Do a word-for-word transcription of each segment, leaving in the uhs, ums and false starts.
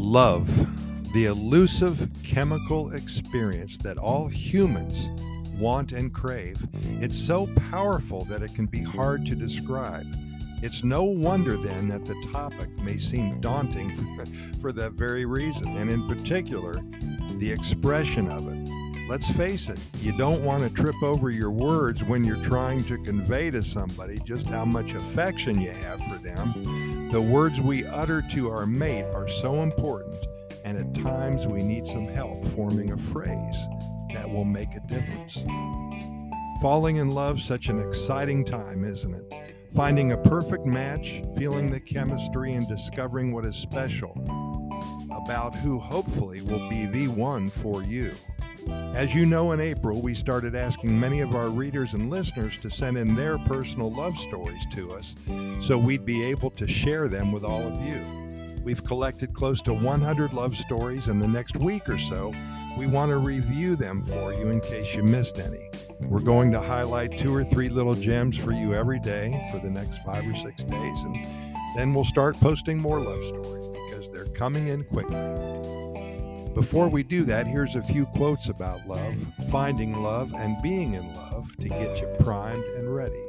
Love, the elusive chemical experience that all humans want and crave. It's so powerful that it can be hard to describe. It's no wonder then that the topic may seem daunting for that very reason, and in particular, the expression of it. Let's face it, you don't want to trip over your words when you're trying to convey to somebody just how much affection you have for them. The words we utter to our mate are so important, and at times we need some help forming a phrase that will make a difference. Falling in love, such an exciting time, isn't it? Finding a perfect match, feeling the chemistry, and discovering what is special about who hopefully will be the one for you. As you know, in April, we started asking many of our readers and listeners to send in their personal love stories to us so we'd be able to share them with all of you. We've collected close to one hundred love stories, and the next week or so, we want to review them for you in case you missed any. We're going to highlight two or three little gems for you every day for the next five or six days, and then we'll start posting more love stories because they're coming in quickly. Before we do that, here's a few quotes about love, finding love, and being in love to get you primed and ready.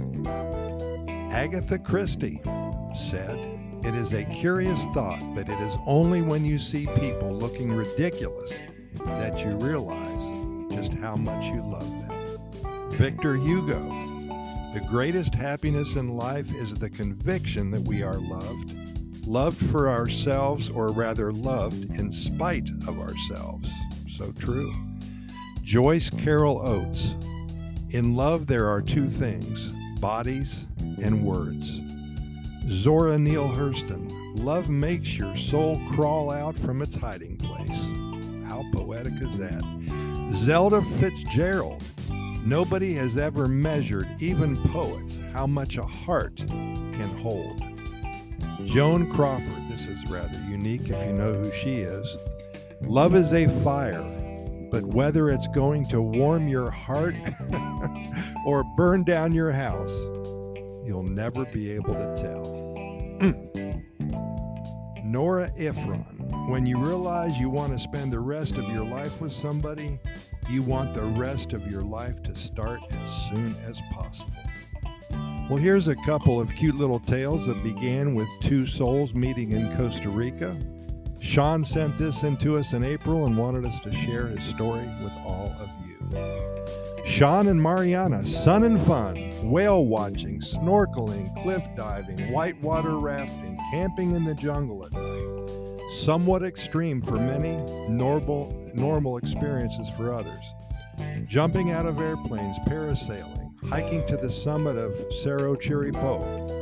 Agatha Christie said, "It is a curious thought, but it is only when you see people looking ridiculous that you realize just how much you love them." Victor Hugo, "The greatest happiness in life is the conviction that we are loved. Loved for ourselves, or rather loved in spite of ourselves." So true. Joyce Carol Oates, "In love there are two things, bodies and words." Zora Neale Hurston, "Love makes your soul crawl out from its hiding place." How poetic is that? Zelda Fitzgerald, "Nobody has ever measured, even poets, how much a heart can hold." Joan Crawford, this is rather unique if you know who she is. "Love is a fire, but whether it's going to warm your heart or burn down your house, you'll never be able to tell." Nora Ephron, "When you realize you want to spend the rest of your life with somebody, you want the rest of your life to start as soon as possible." Well, here's a couple of cute little tales that began with two souls meeting in Costa Rica. Sean sent this in to us in April and wanted us to share his story with all of you. Sean and Mariana, sun and fun, whale watching, snorkeling, cliff diving, whitewater rafting, camping in the jungle at night. Somewhat extreme for many, normal, normal experiences for others. Jumping out of airplanes, parasailing, hiking to the summit of Cerro Chiripo.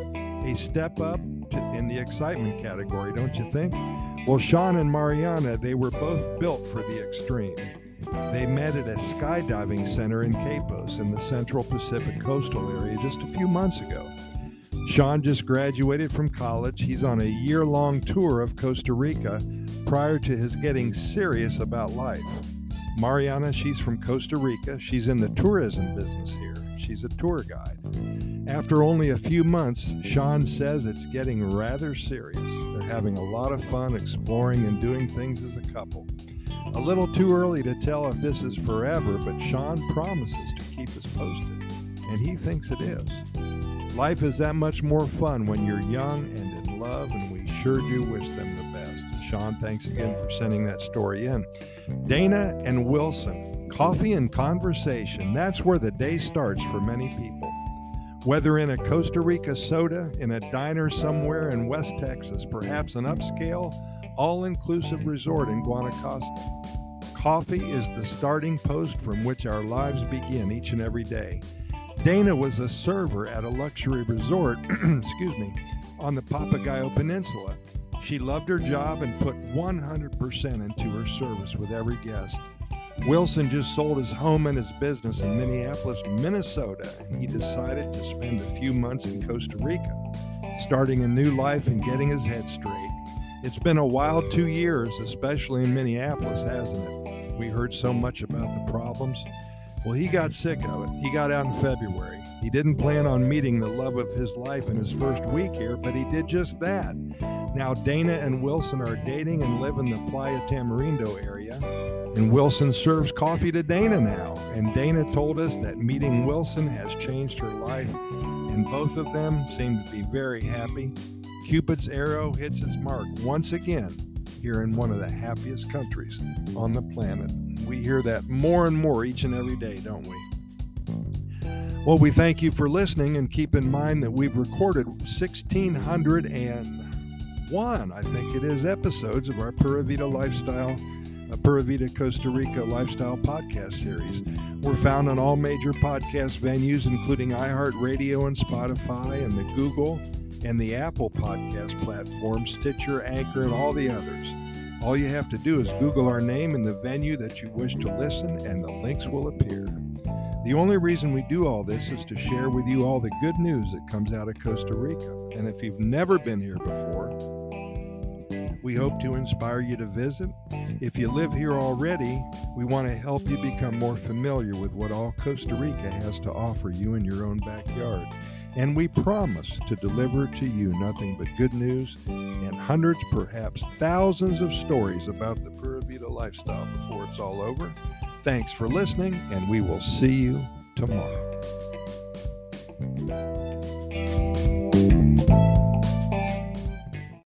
A step up to, in the excitement category, don't you think? Well, Sean and Mariana, they were both built for the extreme. They met at a skydiving center in Capos in the Central Pacific coastal area just a few months ago. Sean just graduated from college. He's on a year-long tour of Costa Rica prior to his getting serious about life. Mariana, she's from Costa Rica. She's in the tourism business here. She's a tour guide. After only a few months, Sean says it's getting rather serious. They're having a lot of fun exploring and doing things as a couple. A little too early to tell if this is forever, but Sean promises to keep us posted, and he thinks it is. Life is that much more fun when you're young and in love, and we sure do wish them the best. Sean, thanks again for sending that story in. Dana and Wilson, coffee and conversation. That's where the day starts for many people. Whether in a Costa Rica soda, in a diner somewhere in West Texas, perhaps an upscale, all-inclusive resort in Guanacaste. Coffee is the starting post from which our lives begin each and every day. Dana was a server at a luxury resort, excuse me, on the Papagayo Peninsula. She loved her job and put one hundred percent into her service with every guest. Wilson just sold his home and his business in Minneapolis, Minnesota, and he decided to spend a few months in Costa Rica, starting a new life and getting his head straight. It's been a wild two years, especially in Minneapolis, hasn't it? We heard so much about the problems. Well, he got sick of it. He got out in February. He didn't plan on meeting the love of his life in his first week here, but he did just that. Now Dana and Wilson are dating and live in the Playa Tamarindo area. And Wilson serves coffee to Dana now. And Dana told us that meeting Wilson has changed her life. And both of them seem to be very happy. Cupid's arrow hits its mark once again here in one of the happiest countries on the planet. We hear that more and more each and every day, don't we? Well, we thank you for listening, and keep in mind that we've recorded one thousand six hundred one, I think it is, episodes of our Pura Vida Lifestyle, uh, Pura Vida Costa Rica Lifestyle Podcast Series. We're found on all major podcast venues, including iHeartRadio and Spotify and the Google and the Apple podcast platform, Stitcher, Anchor, and all the others. All you have to do is Google our name and the venue that you wish to listen, and the links will appear. The only reason we do all this is to share with you all the good news that comes out of Costa Rica. And if you've never been here before, we hope to inspire you to visit. If you live here already, we want to help you become more familiar with what all Costa Rica has to offer you in your own backyard. And we promise to deliver to you nothing but good news and hundreds, perhaps thousands of stories about the Pura Vida lifestyle before it's all over. Thanks for listening, and we will see you tomorrow.